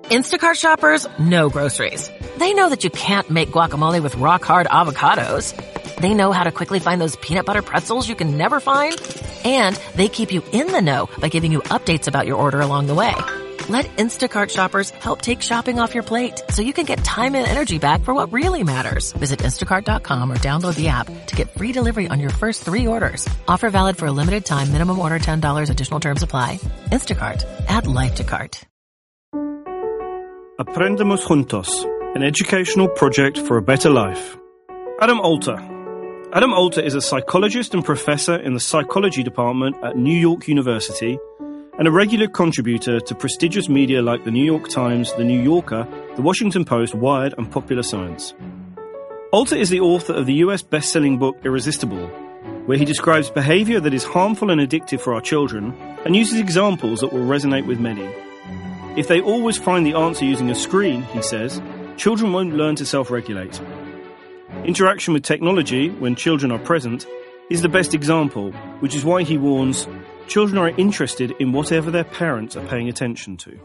Instacart shoppers know groceries. They know that you can't make guacamole with rock-hard avocados. They know how to quickly find those peanut butter pretzels you can never find. And they keep you in the know by giving you updates about your order along the way. Let Instacart shoppers help take shopping off your plate so you can get time and energy back for what really matters. Visit instacart.com or download the app to get free delivery on your first 3 orders. Offer valid for a limited time. Minimum order $10. Additional terms apply. Instacart. Add life to cart. Aprendamos Juntos, an educational project for a better life. Adam Alter. Adam Alter is a psychologist and professor in the psychology department at New York University and a regular contributor to prestigious media like the New York Times, the New Yorker, the Washington Post, Wired, and Popular Science. Alter is the author of the US best-selling book Irresistible, where he describes behavior that is harmful and addictive for our children and uses examples that will resonate with many. If they always find the answer using a screen, he says, children won't learn to self-regulate. Interaction with technology, when children are present, is the best example, which is why he warns, children are interested in whatever their parents are paying attention to.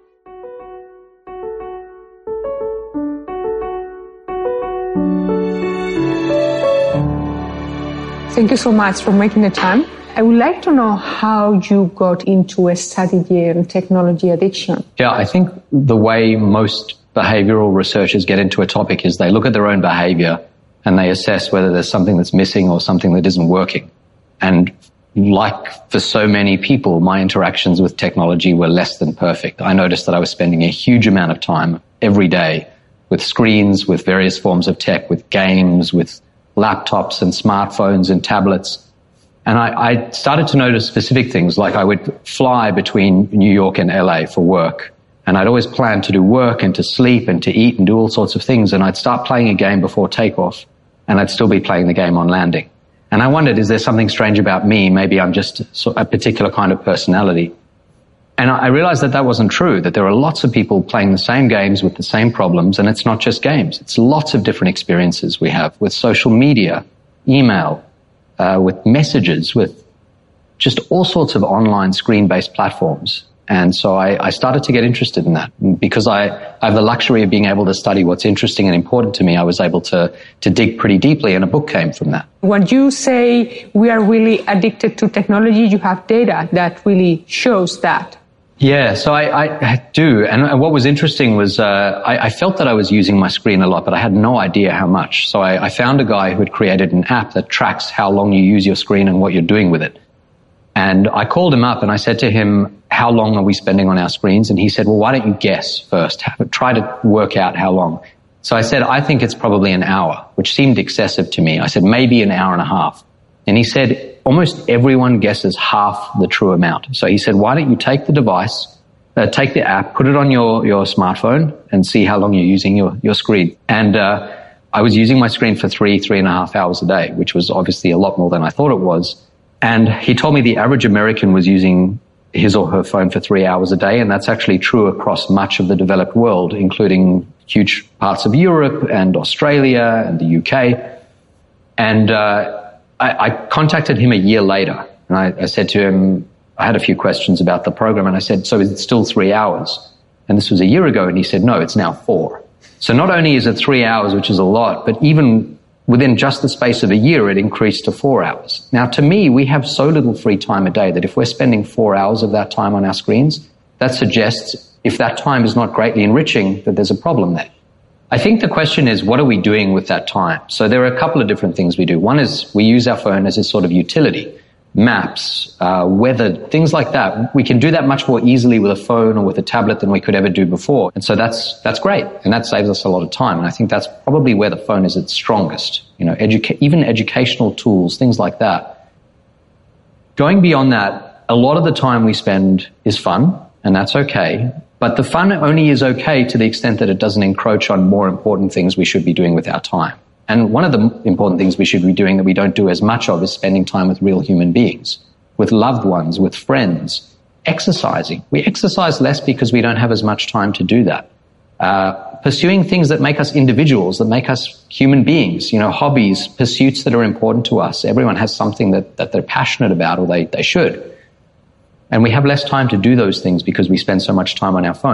Thank you so much for making the time. I would like to know how you got into a study in technology addiction. Yeah, I think the way most behavioral researchers get into a topic is they look at their own behavior and they assess whether there's something that's missing or something that isn't working. And like for so many people, my interactions with technology were less than perfect. I noticed that I was spending a huge amount of time every day with screens, with various forms of tech, with games, with laptops and smartphones and tablets. And I started to notice specific things, like I would fly between New York and LA for work. And I'd always plan to do work and to sleep and to eat and do all sorts of things. And I'd start playing a game before takeoff, and I'd still be playing the game on landing. And I wondered, is there something strange about me? Maybe I'm just a particular kind of personality. And I realized that that wasn't true, that there are lots of people playing the same games with the same problems, and it's not just games. It's lots of different experiences we have with social media, email, with messages, with just all sorts of online screen-based platforms. And so I started to get interested in that. Because I have the luxury of being able to study what's interesting and important to me, I was able to dig pretty deeply, and a book came from that. When you say we are really addicted to technology, you have data that really shows that. Yeah, so I do. And what was interesting was I felt that I was using my screen a lot, but I had no idea how much. So I found a guy who had created an app that tracks how long you use your screen and what you're doing with it. And I called him up and I said to him, how long are we spending on our screens? And he said, well, why don't you guess first? Try to work out how long. So I said, I think it's probably an hour, which seemed excessive to me. I said, maybe an hour and a half. And he said, almost everyone guesses half the true amount. So he said, why don't you take the device, take the app, put it on your smartphone and see how long you're using your screen. And I was using my screen for 3.5 hours a day, which was obviously a lot more than I thought it was. And he told me the average American was using his or her phone for 3 hours a day, and that's actually true across much of the developed world, including huge parts of Europe and Australia and the UK. And I contacted him a year later, and I said to him, I had a few questions about the program, and I said, so is it still 3 hours? And this was a year ago, and he said, no, it's now 4. So not only is it 3 hours, which is a lot, but even within just the space of a year, it increased to 4 hours. Now, to me, we have so little free time a day that if we're spending 4 hours of that time on our screens, that suggests if that time is not greatly enriching, that there's a problem there. I think the question is, what are we doing with that time? So there are a couple of different things we do. One is we use our phone as a sort of utility. Maps, weather, things like that. We can do that much more easily with a phone or with a tablet than we could ever do before. And so that's great. And that saves us a lot of time. And I think that's probably where the phone is its strongest. You know, even educational tools, things like that. Going beyond that, a lot of the time we spend is fun, and that's okay. But the fun only is okay to the extent that it doesn't encroach on more important things we should be doing with our time. And one of the important things we should be doing that we don't do as much of is spending time with real human beings, with loved ones, with friends, exercising. We exercise less because we don't have as much time to do that. Pursuing things that make us individuals, that make us human beings, you know, hobbies, pursuits that are important to us. Everyone has something that they're passionate about, or they should. And we have less time to do those things because we spend so much time on our phones.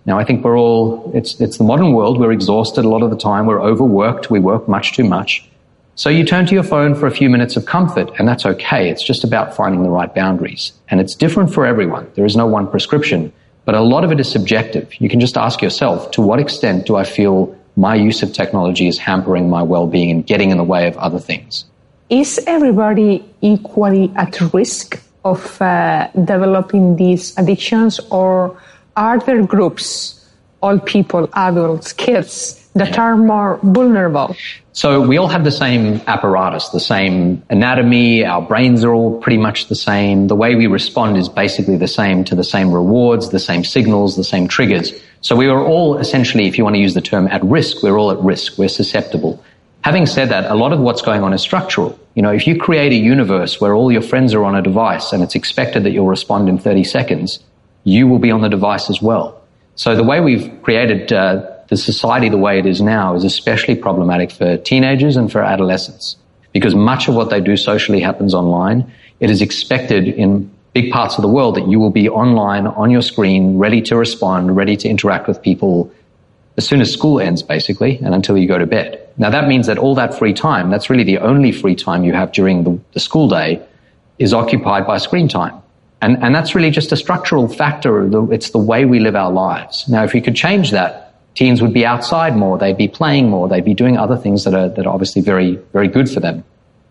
Now, I think it's the modern world. We're exhausted a lot of the time. We're overworked. We work much too much. So you turn to your phone for a few minutes of comfort, and that's okay. It's just about finding the right boundaries. And it's different for everyone. There is no one prescription, but a lot of it is subjective. You can just ask yourself, to what extent do I feel my use of technology is hampering my well-being and getting in the way of other things? Is everybody equally at risk of developing these addictions, or are there groups, all people, adults, kids, that are more vulnerable? So we all have the same apparatus, the same anatomy. Our brains are all pretty much the same. The way we respond is basically the same to the same rewards, the same signals, the same triggers. So we are all essentially, if you want to use the term, at risk. We're all at risk. We're susceptible. Having said that, a lot of what's going on is structural. You know, if you create a universe where all your friends are on a device and it's expected that you'll respond in 30 seconds, you will be on the device as well. So the way we've created the society the way it is now is especially problematic for teenagers and for adolescents, because much of what they do socially happens online. It is expected in big parts of the world that you will be online, on your screen, ready to respond, ready to interact with people as soon as school ends, basically, and until you go to bed. Now, that means that all that free time, that's really the only free time you have during the school day, is occupied by screen time. And that's really just a structural factor. It's the way we live our lives. Now, if we could change that, teens would be outside more, they'd be playing more, they'd be doing other things that are obviously very, very good for them.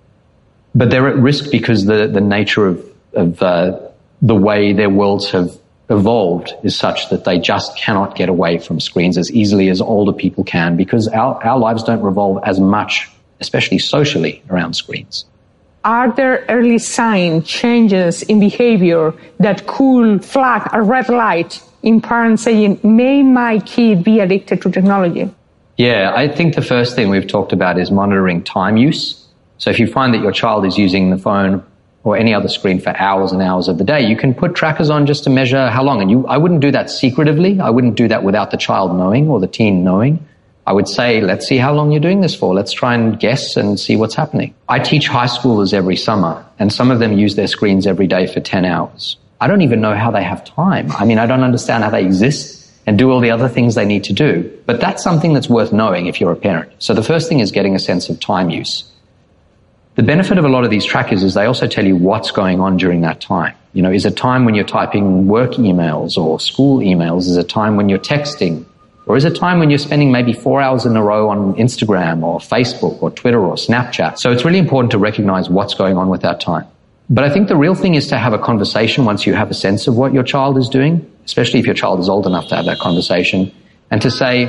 But they're at risk because the nature of the way their worlds have evolved is such that they just cannot get away from screens as easily as older people can, because our lives don't revolve as much, especially socially, around screens. Are there early signs, changes in behavior that could flag a red light in parents saying, may my kid be addicted to technology? Yeah, I think the first thing we've talked about is monitoring time use. So if you find that your child is using the phone or any other screen for hours and hours of the day, you can put trackers on just to measure how long. And I wouldn't do that secretively. I wouldn't do that without the child knowing or the teen knowing. I would say, let's see how long you're doing this for. Let's try and guess and see what's happening. I teach high schoolers every summer, and some of them use their screens every day for 10 hours. I don't even know how they have time. I mean, I don't understand how they exist and do all the other things they need to do. But that's something that's worth knowing if you're a parent. So the first thing is getting a sense of time use. The benefit of a lot of these trackers is they also tell you what's going on during that time. You know, is it time when you're typing work emails or school emails? Is it time when you're texting? Or is it time when you're spending maybe 4 hours in a row on Instagram or Facebook or Twitter or Snapchat? So it's really important to recognize what's going on with that time. But I think the real thing is to have a conversation once you have a sense of what your child is doing, especially if your child is old enough to have that conversation, and to say,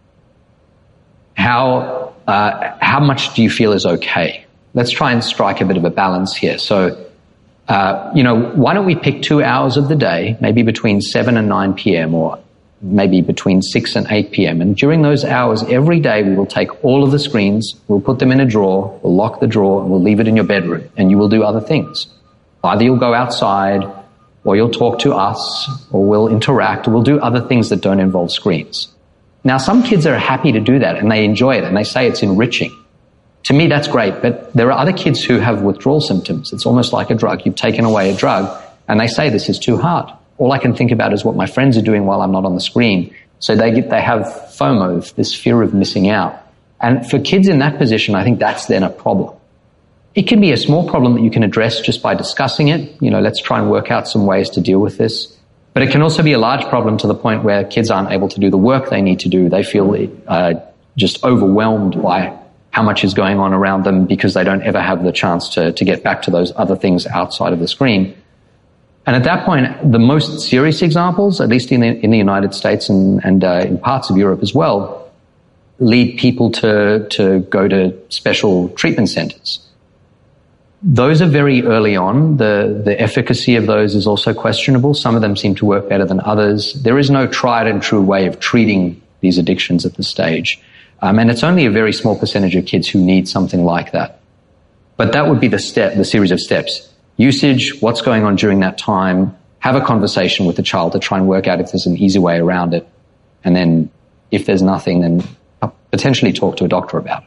how much do you feel is okay? Let's try and strike a bit of a balance here. So, why don't we pick 2 hours of the day, maybe between 7 and 9 p.m. or maybe between 6 and 8 p.m. And during those hours, every day, we will take all of the screens, we'll put them in a drawer, we'll lock the drawer, and we'll leave it in your bedroom, and you will do other things. Either you'll go outside, or you'll talk to us, or we'll interact, or we'll do other things that don't involve screens. Now, some kids are happy to do that, and they enjoy it, and they say it's enriching. To me, that's great, but there are other kids who have withdrawal symptoms. It's almost like a drug. You've taken away a drug, and they say this is too hard. All I can think about is what my friends are doing while I'm not on the screen. So they have FOMO, this fear of missing out. And for kids in that position, I think that's then a problem. It can be a small problem that you can address just by discussing it. You know, let's try and work out some ways to deal with this. But it can also be a large problem to the point where kids aren't able to do the work they need to do. They feel just overwhelmed by how much is going on around them because they don't ever have the chance to get back to those other things outside of the screen. And at that point, the most serious examples, at least in the United States and in parts of Europe as well, lead people to go to special treatment centers. Those are very early on. The efficacy of those is also questionable. Some of them seem to work better than others. There is no tried and true way of treating these addictions at this stage. And it's only a very small percentage of kids who need something like that. But that would be the series of steps. Usage, what's going on during that time, have a conversation with the child to try and work out if there's an easy way around it. And then if there's nothing, then potentially talk to a doctor about it.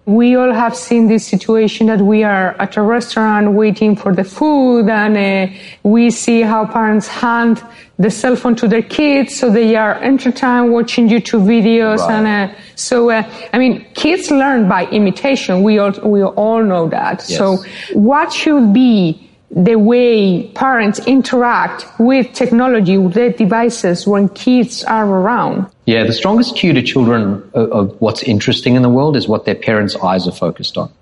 We all have seen this situation that we are at a restaurant waiting for the food, and we see how parents hand the cell phone to their kids so they are entertained watching YouTube videos. Right. And kids learn by imitation. We all know that. Yes. So what should be the way parents interact with technology, with their devices when kids are around? Yeah, the strongest cue to children of what's interesting in the world is what their parents' eyes are focused on.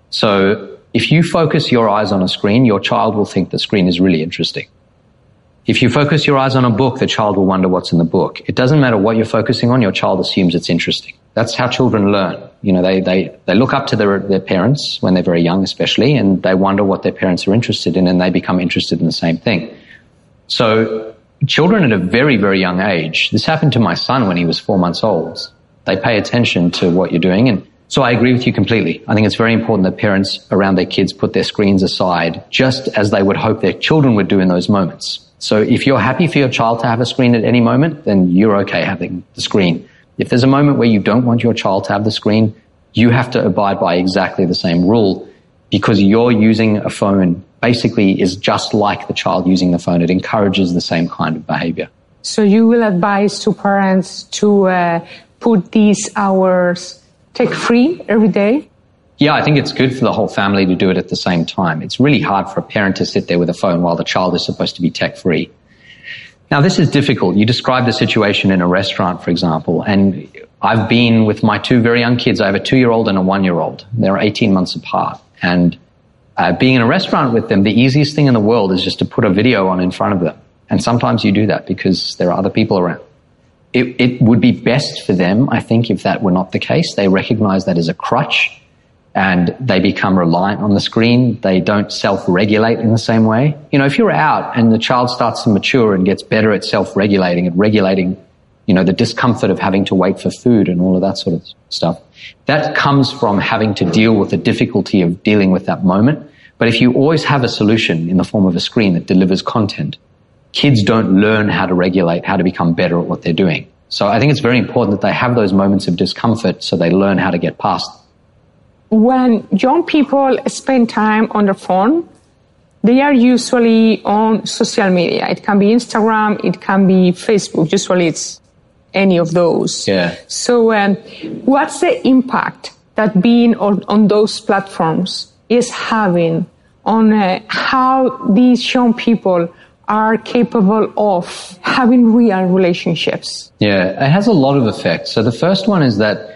So if you focus your eyes on a screen, your child will think the screen is really interesting. If you focus your eyes on a book, the child will wonder what's in the book. It doesn't matter what you're focusing on, your child assumes it's interesting. That's how children learn. You know, they look up to their parents when they're very young, especially, and they wonder what their parents are interested in, and they become interested in the same thing. So children at a very, very young age, this happened to my son when he was 4 months old. They pay attention to what you're doing. And so I agree with you completely. I think it's very important that parents around their kids put their screens aside, just as they would hope their children would do in those moments. So if you're happy for your child to have a screen at any moment, then you're okay having the screen. If there's a moment where you don't want your child to have the screen, you have to abide by exactly the same rule, because you're using a phone basically is just like the child using the phone. It encourages the same kind of behavior. So you will advise to parents to put these hours tech-free every day? Yeah, I think it's good for the whole family to do it at the same time. It's really hard for a parent to sit there with a phone while the child is supposed to be tech-free. Now, this is difficult. You described the situation in a restaurant, for example, and I've been with my two very young kids. I have a 2-year-old and a 1-year-old. They're 18 months apart. And being in a restaurant with them, the easiest thing in the world is just to put a video on in front of them. And sometimes you do that because there are other people around. It would be best for them, I think, if that were not the case. They recognize that as a crutch and they become reliant on the screen. They don't self-regulate in the same way. You know, if you're out and the child starts to mature and gets better at self-regulating, at regulating, you know, the discomfort of having to wait for food and all of that sort of stuff, that comes from having to deal with the difficulty of dealing with that moment. But if you always have a solution in the form of a screen that delivers content, kids don't learn how to regulate, how to become better at what they're doing. So I think it's very important that they have those moments of discomfort so they learn how to get past. When young people spend time on their phone, they are usually on social media. It can be Instagram, it can be Facebook. Usually it's any of those. Yeah. So what's the impact that being on those platforms is having on how these young people are capable of having real relationships? Yeah, it has a lot of effects. So the first one is that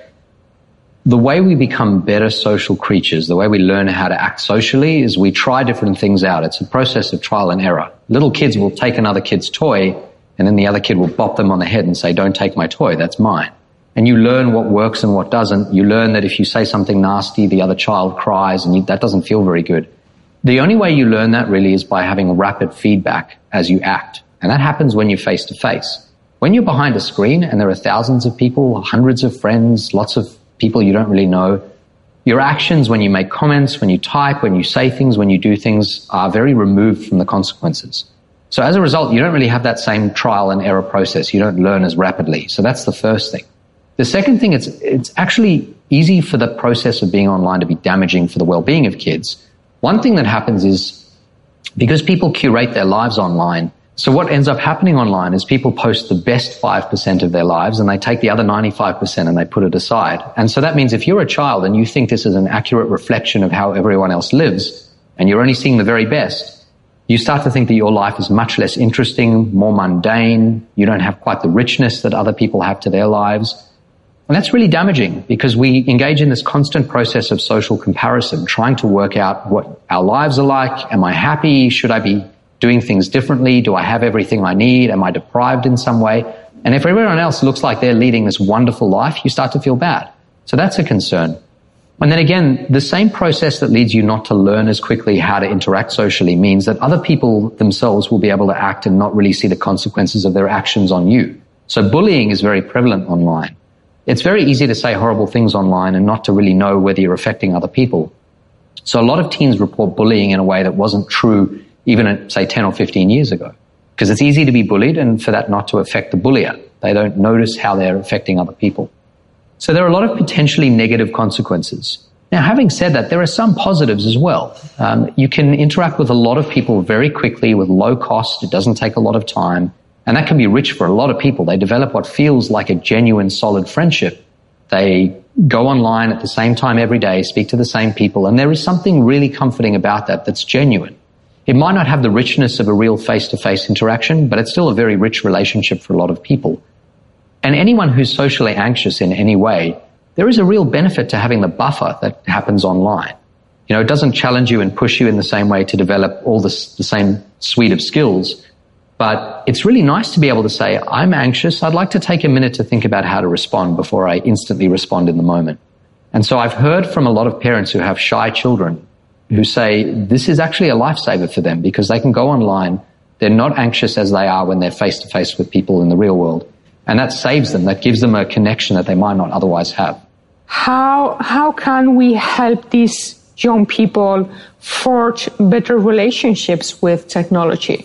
the way we become better social creatures, the way we learn how to act socially, is we try different things out. It's a process of trial and error. Little kids will take another kid's toy, and then the other kid will bop them on the head and say, "Don't take my toy, that's mine." And you learn what works and what doesn't. You learn that if you say something nasty, the other child cries, and that doesn't feel very good. The only way you learn that really is by having rapid feedback as you act. And that happens when you're face to face. When you're behind a screen and there are thousands of people, hundreds of friends, lots of people you don't really know, your actions when you make comments, when you type, when you say things, when you do things are very removed from the consequences. So as a result, you don't really have that same trial and error process. You don't learn as rapidly. So that's the first thing. The second thing, it's actually easy for the process of being online to be damaging for the well-being of kids. One thing that happens is because people curate their lives online, so what ends up happening online is people post the best 5% of their lives and they take the other 95% and they put it aside. And so that means if you're a child and you think this is an accurate reflection of how everyone else lives and you're only seeing the very best, you start to think that your life is much less interesting, more mundane. You don't have quite the richness that other people have to their lives. And that's really damaging because we engage in this constant process of social comparison, trying to work out what our lives are like. Am I happy? Should I be doing things differently? Do I have everything I need? Am I deprived in some way? And if everyone else looks like they're leading this wonderful life, you start to feel bad. So that's a concern. And then again, the same process that leads you not to learn as quickly how to interact socially means that other people themselves will be able to act and not really see the consequences of their actions on you. So bullying is very prevalent online. It's very easy to say horrible things online and not to really know whether you're affecting other people. So a lot of teens report bullying in a way that wasn't true even, say, 10 or 15 years ago. Because it's easy to be bullied and for that not to affect the bullier. They don't notice how they're affecting other people. So there are a lot of potentially negative consequences. Now, having said that, there are some positives as well. You can interact with a lot of people very quickly with low cost. It doesn't take a lot of time. And that can be rich for a lot of people. They develop what feels like a genuine, solid friendship. They go online at the same time every day, speak to the same people, and there is something really comforting about that that's genuine. It might not have the richness of a real face-to-face interaction, but it's still a very rich relationship for a lot of people. And anyone who's socially anxious in any way, there is a real benefit to having the buffer that happens online. You know, it doesn't challenge you and push you in the same way to develop all the same suite of skills, but it's really nice to be able to say, I'm anxious, I'd like to take a minute to think about how to respond before I instantly respond in the moment. And so I've heard from a lot of parents who have shy children who say this is actually a lifesaver for them because they can go online, they're not anxious as they are when they're face-to-face with people in the real world. And that saves them, that gives them a connection that they might not otherwise have. How can we help these young people forge better relationships with technology?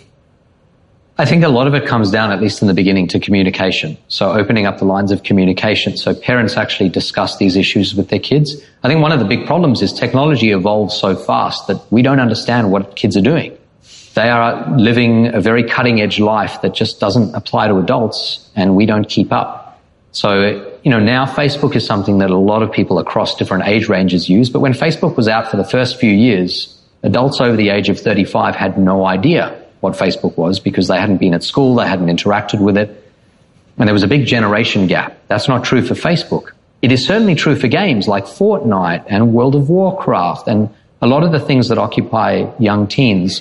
I think a lot of it comes down, at least in the beginning, to communication. So opening up the lines of communication so parents actually discuss these issues with their kids. I think one of the big problems is technology evolves so fast that we don't understand what kids are doing. They are living a very cutting-edge life that just doesn't apply to adults, and we don't keep up. So, you know, now Facebook is something that a lot of people across different age ranges use, but when Facebook was out for the first few years, adults over the age of 35 had no idea what Facebook was because they hadn't been at school, they hadn't interacted with it, and there was a big generation gap. That's not true for Facebook. It is certainly true for games like Fortnite and World of Warcraft and a lot of the things that occupy young teens.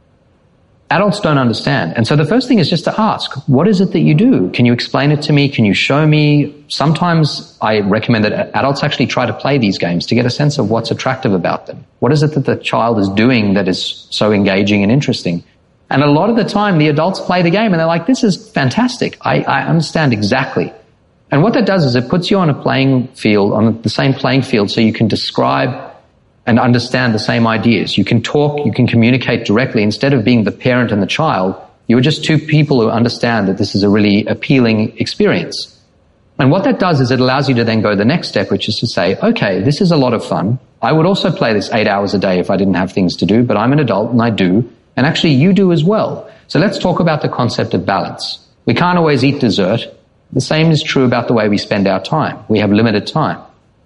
Adults don't understand. And so the first thing is just to ask, what is it that you do? Can you explain it to me? Can you show me? Sometimes I recommend that adults actually try to play these games to get a sense of what's attractive about them. What is it that the child is doing that is so engaging and interesting? And a lot of the time, the adults play the game and they're like, this is fantastic. I understand exactly. And what that does is it puts you on a playing field, on the same playing field, so you can describe and understand the same ideas. You can talk, you can communicate directly. Instead of being the parent and the child, you are just two people who understand that this is a really appealing experience. And what that does is it allows you to then go the next step, which is to say, okay, this is a lot of fun. I would also play this 8 hours a day if I didn't have things to do, but I'm an adult and I do. And actually you do as well. So let's talk about the concept of balance. We can't always eat dessert. The same is true about the way we spend our time. We have limited time.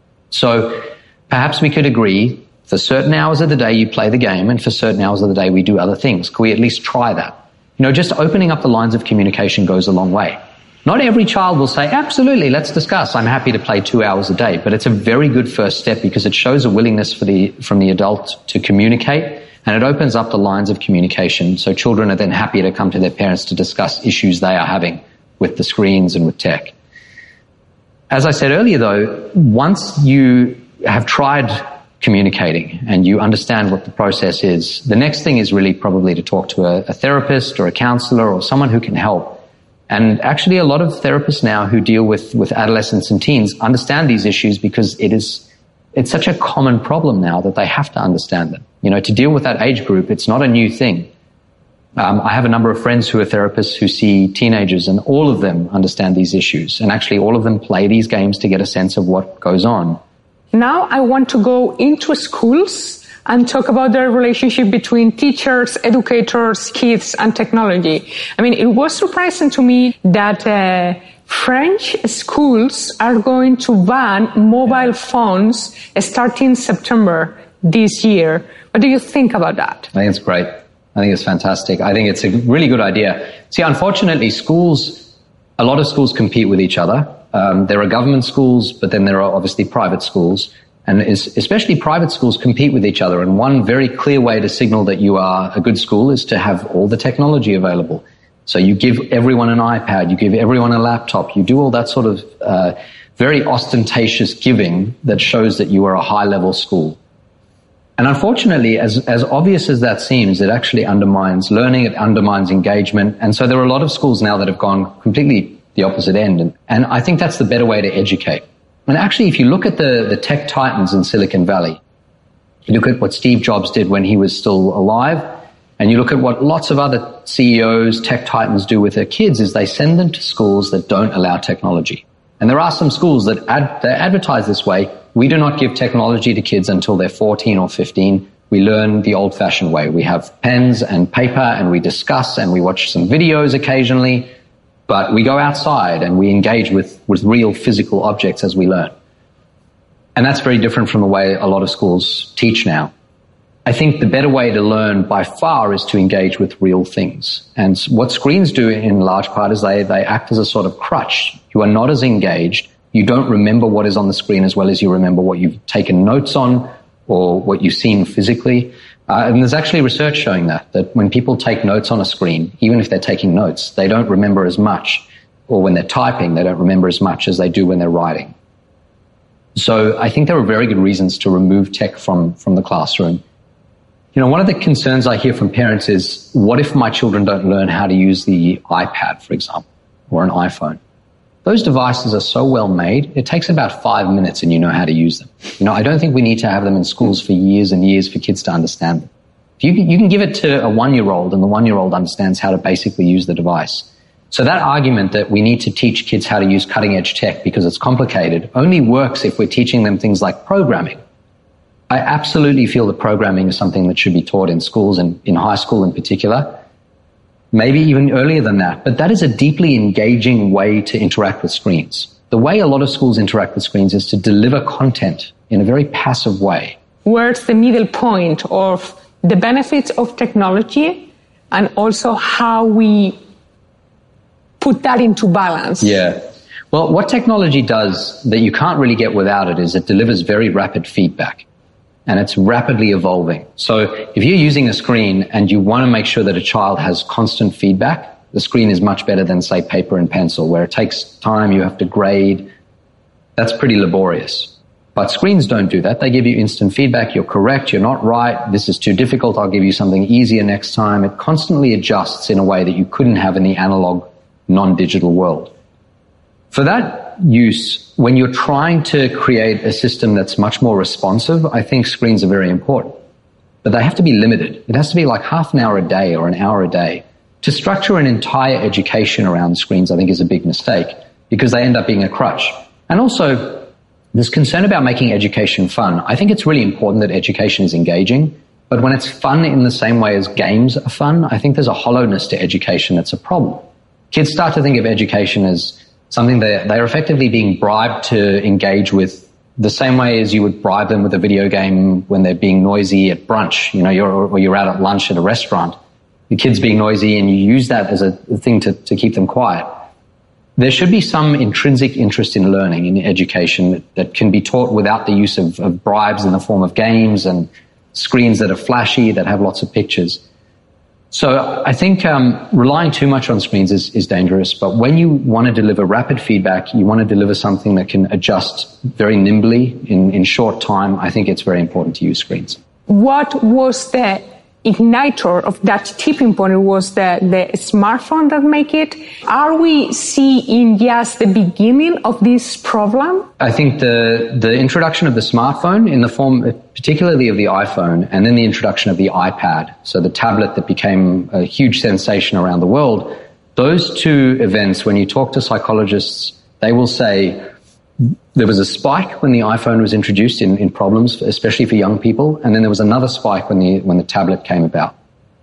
So perhaps we could agree for certain hours of the day you play the game and for certain hours of the day we do other things. Could we at least try that? You know, just opening up the lines of communication goes a long way. Not every child will say, absolutely, let's discuss. I'm happy to play 2 hours a day. But it's a very good first step because it shows a willingness from the adult to communicate, and it opens up the lines of communication. So children are then happy to come to their parents to discuss issues they are having with the screens and with tech. As I said earlier, though, once you have tried communicating and you understand what the process is, the next thing is really probably to talk to a therapist or a counselor or someone who can help. And actually a lot of therapists now who deal with adolescents and teens understand these issues because it's such a common problem now that they have to understand them. You know, to deal with that age group, it's not a new thing. I have a number of friends who are therapists who see teenagers, and all of them understand these issues. And actually all of them play these games to get a sense of what goes on. Now I want to go into schools and talk about the relationship between teachers, educators, kids, and technology. I mean, it was surprising to me that French schools are going to ban mobile phones starting September this year. What do you think about that? I think it's great. I think it's fantastic. I think it's a really good idea. See, unfortunately, a lot of schools compete with each other. There are government schools, but then there are obviously private schools. And especially private schools compete with each other. And one very clear way to signal that you are a good school is to have all the technology available. So you give everyone an iPad, you give everyone a laptop, you do all that sort of very ostentatious giving that shows that you are a high-level school. And unfortunately, as obvious as that seems, it actually undermines learning, it undermines engagement. And so there are a lot of schools now that have gone completely the opposite end. And I think that's the better way to educate. And actually, if you look at the tech titans in Silicon Valley, you look at what Steve Jobs did when he was still alive, and you look at what lots of other CEOs, tech titans do with their kids, is they send them to schools that don't allow technology. And there are some schools that advertise this way. We do not give technology to kids until they're 14 or 15. We learn the old-fashioned way. We have pens and paper, and we discuss, and we watch some videos occasionally, but we go outside and we engage with real physical objects as we learn. And that's very different from the way a lot of schools teach now. I think the better way to learn by far is to engage with real things. And what screens do in large part is they act as a sort of crutch. You are not as engaged. You don't remember what is on the screen as well as you remember what you've taken notes on or what you've seen physically. And there's actually research showing that when people take notes on a screen, even if they're taking notes, they don't remember as much, or when they're typing, they don't remember as much as they do when they're writing. So I think there are very good reasons to remove tech from the classroom. You know, one of the concerns I hear from parents is, what if my children don't learn how to use the iPad, for example, or an iPhone? Those devices are so well made, it takes about 5 minutes and you know how to use them. You know, I don't think we need to have them in schools for years and years for kids to understand them. You can give it to a 1-year-old and the 1-year-old understands how to basically use the device. So that argument that we need to teach kids how to use cutting-edge tech because it's complicated only works if we're teaching them things like programming. I absolutely feel that programming is something that should be taught in schools and in high school in particular, maybe even earlier than that. But that is a deeply engaging way to interact with screens. The way a lot of schools interact with screens is to deliver content in a very passive way. Where's the middle point of the benefits of technology and also how we put that into balance? Yeah. Well, what technology does that you can't really get without it is it delivers very rapid feedback. And it's rapidly evolving. So if you're using a screen and you want to make sure that a child has constant feedback, the screen is much better than, say, paper and pencil, where it takes time, you have to grade. That's pretty laborious. But screens don't do that. They give you instant feedback. You're correct. You're not right. This is too difficult. I'll give you something easier next time. It constantly adjusts in a way that you couldn't have in the analog, non-digital world. For that use, when you're trying to create a system that's much more responsive, I think screens are very important. But they have to be limited. It has to be like half an hour a day or an hour a day. To structure an entire education around screens, I think, is a big mistake because they end up being a crutch. And also, there's concern about making education fun. I think it's really important that education is engaging, but when it's fun in the same way as games are fun, I think there's a hollowness to education that's a problem. Kids start to think of education as something that they're effectively being bribed to engage with the same way as you would bribe them with a video game when they're being noisy at brunch, you know, you're out at lunch at a restaurant. The kid's being noisy and you use that as a thing to keep them quiet. There should be some intrinsic interest in learning, in education, that can be taught without the use of bribes in the form of games and screens that are flashy, that have lots of pictures. So I think relying too much on screens is dangerous, but when you want to deliver rapid feedback, you want to deliver something that can adjust very nimbly in short time, I think it's very important to use screens. What was the igniter of that tipping point? It was the smartphone that make it. Are we seeing just the beginning of this problem? I think the introduction of the smartphone in the form particularly of the iPhone, and then the introduction of the iPad, so the tablet that became a huge sensation around the world, those two events, when you talk to psychologists, they will say there was a spike when the iPhone was introduced in problems, especially for young people, and then there was another spike when the tablet came about.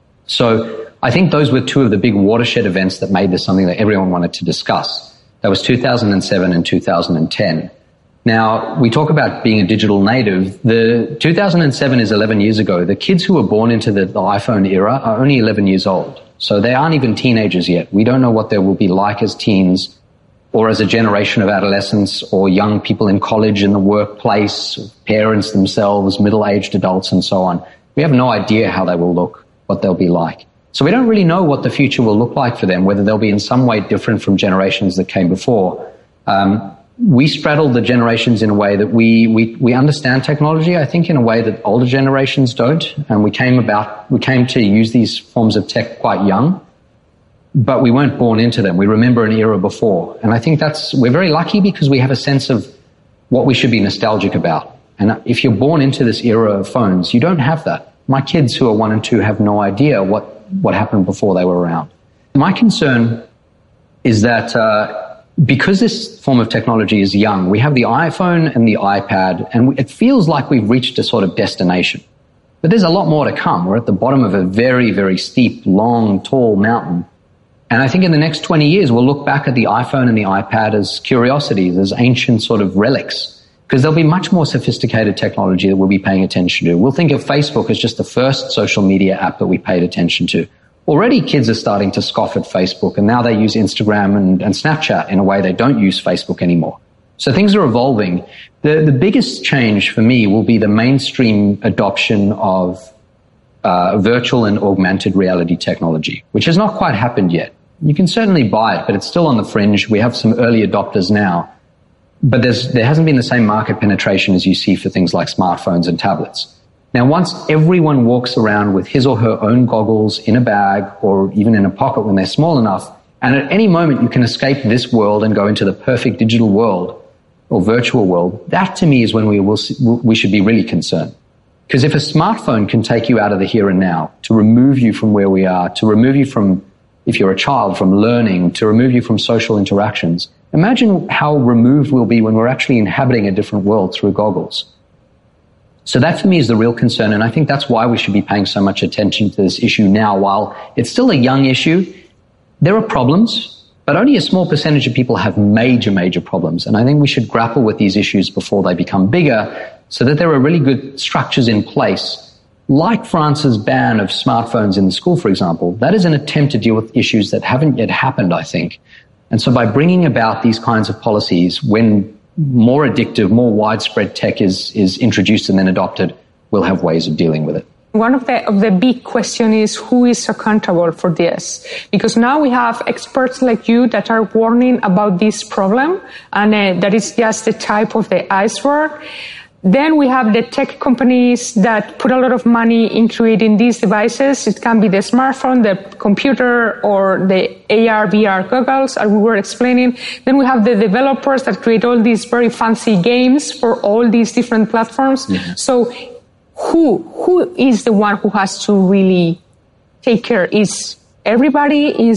So I think those were two of the big watershed events that made this something that everyone wanted to discuss. That was 2007 and 2010. Now, we talk about being a digital native. The 2007 is 11 years ago. The kids who were born into the iPhone era are only 11 years old. So they aren't even teenagers yet. We don't know what they will be like as teens, or as a generation of adolescents, or young people in college, in the workplace, parents themselves, middle-aged adults, and so on. We have no idea how they will look, what they'll be like. So we don't really know what the future will look like for them, whether they'll be in some way different from generations that came before. We straddle the generations in a way that we understand technology, I think, in a way that older generations don't. And we came to use these forms of tech quite young, but we weren't born into them. We remember an era before. And I think we're very lucky because we have a sense of what we should be nostalgic about. And if you're born into this era of phones, you don't have that. My kids who are 1 and 2 have no idea what happened before they were around. My concern is that because this form of technology is young, we have the iPhone and the iPad, and it feels like we've reached a sort of destination. But there's a lot more to come. We're at the bottom of a very, very steep, long, tall mountain. And I think in the next 20 years, we'll look back at the iPhone and the iPad as curiosities, as ancient sort of relics, because there'll be much more sophisticated technology that we'll be paying attention to. We'll think of Facebook as just the first social media app that we paid attention to. Already kids are starting to scoff at Facebook, and now they use Instagram and Snapchat in a way they don't use Facebook anymore. So things are evolving. The biggest change for me will be the mainstream adoption of virtual and augmented reality technology, which has not quite happened yet. You can certainly buy it, but it's still on the fringe. We have some early adopters now, but there hasn't been the same market penetration as you see for things like smartphones and tablets. Now, once everyone walks around with his or her own goggles in a bag or even in a pocket when they're small enough, and at any moment you can escape this world and go into the perfect digital world or virtual world, that to me is when we should be really concerned. Because if a smartphone can take you out of the here and now, to remove you from where we are, to remove you from, if you're a child, from learning, to remove you from social interactions, imagine how removed we'll be when we're actually inhabiting a different world through goggles. So that for me is the real concern, and I think that's why we should be paying so much attention to this issue now. While it's still a young issue, there are problems, but only a small percentage of people have major, major problems. And I think we should grapple with these issues before they become bigger, so that there are really good structures in place, like France's ban of smartphones in the school, for example. That is an attempt to deal with issues that haven't yet happened, I think. And so by bringing about these kinds of policies, when more addictive, more widespread tech is introduced and then adopted, we'll have ways of dealing with it. One of the big question is who is accountable for this? Because now we have experts like you that are warning about this problem, and that is just the type of the iceberg. Then we have the tech companies that put a lot of money in creating these devices. It can be the smartphone, the computer, or the AR, VR goggles, as we were explaining. Then we have the developers that create all these very fancy games for all these different platforms. Yeah. So who is the one who has to really take care? Is everybody?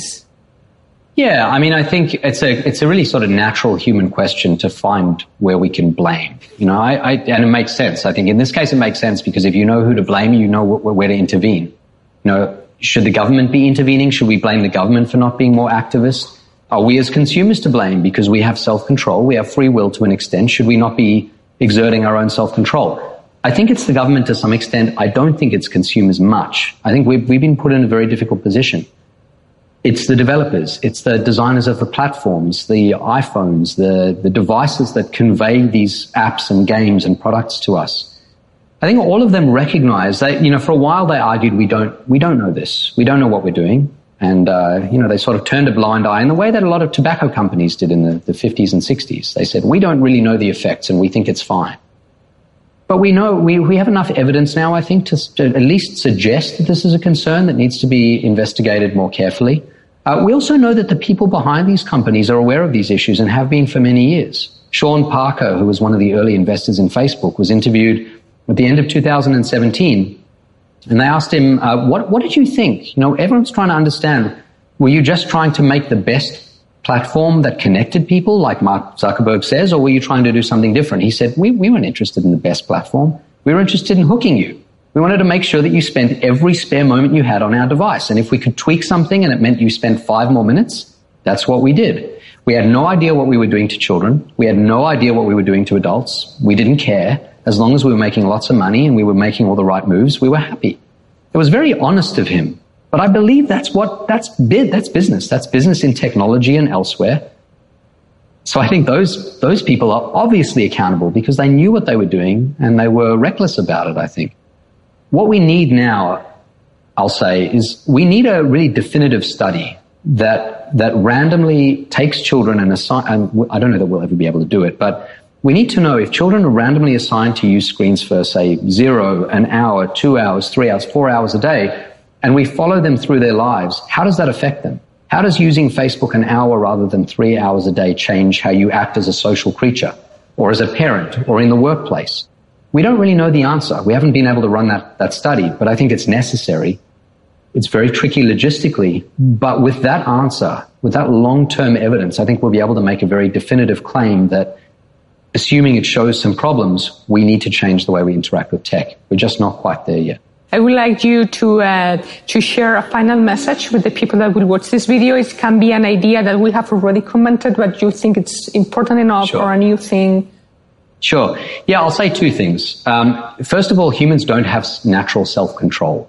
Yeah, I mean, I think it's a really sort of natural human question to find where we can blame. You know, and it makes sense. I think in this case it makes sense because if you know who to blame, you know where to intervene. You know, should the government be intervening? Should we blame the government for not being more activist? Are we as consumers to blame because we have self-control? We have free will to an extent. Should we not be exerting our own self-control? I think it's the government to some extent. I don't think it's consumers much. I think we've been put in a very difficult position. It's the developers, it's the designers of the platforms, the iPhones, the devices that convey these apps and games and products to us. I think all of them recognize that, you know, for a while they argued we don't know this. We don't know what we're doing. And, you know, they sort of turned a blind eye in the way that a lot of tobacco companies did in the 50s and 60s. They said, we don't really know the effects and we think it's fine. But we know, we have enough evidence now, I think, to at least suggest that this is a concern that needs to be investigated more carefully. We also know that the people behind these companies are aware of these issues and have been for many years. Sean Parker, who was one of the early investors in Facebook, was interviewed at the end of 2017. And they asked him, what did you think? You know, everyone's trying to understand, were you just trying to make the best platform that connected people, like Mark Zuckerberg says, or were you trying to do something different? He said, we weren't interested in the best platform. We were interested in hooking you. We wanted to make sure that you spent every spare moment you had on our device. And if we could tweak something and it meant you spent 5 more minutes, that's what we did. We had no idea what we were doing to children. We had no idea what we were doing to adults. We didn't care. As long as we were making lots of money and we were making all the right moves, we were happy. It was very honest of him. But I believe that's business. That's business in technology and elsewhere. So I think those people are obviously accountable because they knew what they were doing and they were reckless about it, I think. What we need now, I'll say, is we need a really definitive study that randomly takes children and I don't know that we'll ever be able to do it, but we need to know if children are randomly assigned to use screens for, say, 0, an hour, 2 hours, 3 hours, 4 hours a day, and we follow them through their lives, how does that affect them? How does using Facebook an hour rather than 3 hours a day change how you act as a social creature or as a parent or in the workplace? We don't really know the answer. We haven't been able to run that study, but I think it's necessary. It's very tricky logistically, but with that answer, with that long-term evidence, I think we'll be able to make a very definitive claim that, assuming it shows some problems, we need to change the way we interact with tech. We're just not quite there yet. I would like you to share a final message with the people that will watch this video. It can be an idea that we have already commented, but you think it's important enough, Sure. or a new thing. Sure. Yeah, I'll say two things. First of all, humans don't have natural self-control.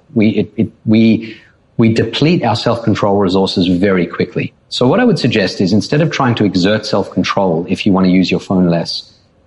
We deplete our self-control resources very quickly. So what I would suggest is, instead of trying to exert self-control if you want to use your phone less,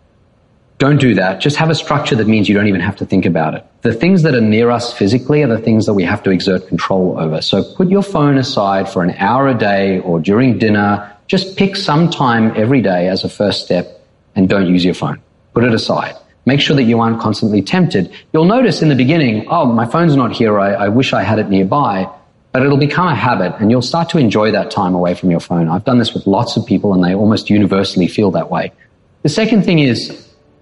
don't do that. Just have a structure that means you don't even have to think about it. The things that are near us physically are the things that we have to exert control over. So put your phone aside for an hour a day or during dinner. Just pick some time every day as a first step and don't use your phone. Put it aside. Make sure that you aren't constantly tempted. You'll notice in the beginning, oh, my phone's not here. I wish I had it nearby. But it'll become a habit and you'll start to enjoy that time away from your phone. I've done this with lots of people and they almost universally feel that way. The second thing is,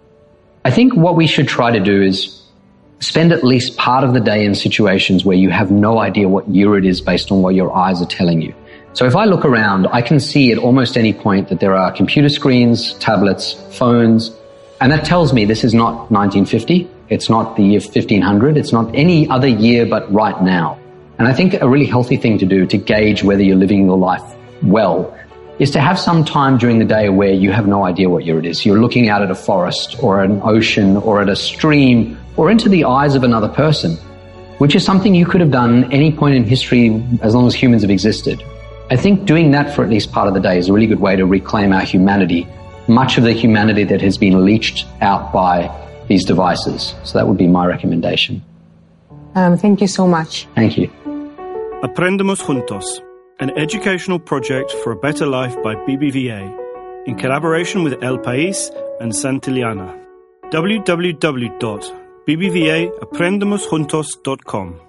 I think what we should try to do is spend at least part of the day in situations where you have no idea what year it is based on what your eyes are telling you. So if I look around, I can see at almost any point that there are computer screens, tablets, phones, and that tells me this is not 1950, it's not the year 1500, it's not any other year but right now. And I think a really healthy thing to do to gauge whether you're living your life well is to have some time during the day where you have no idea what year it is. You're looking out at a forest or an ocean or at a stream or into the eyes of another person, which is something you could have done any point in history as long as humans have existed. I think doing that for at least part of the day is a really good way to reclaim our humanity, much of the humanity that has been leached out by these devices. So that would be my recommendation. Thank you so much. Thank you. Aprendamos Juntos, an educational project for a better life by BBVA, in collaboration with El País and Santillana. www.bbvaaprendamusjuntos.com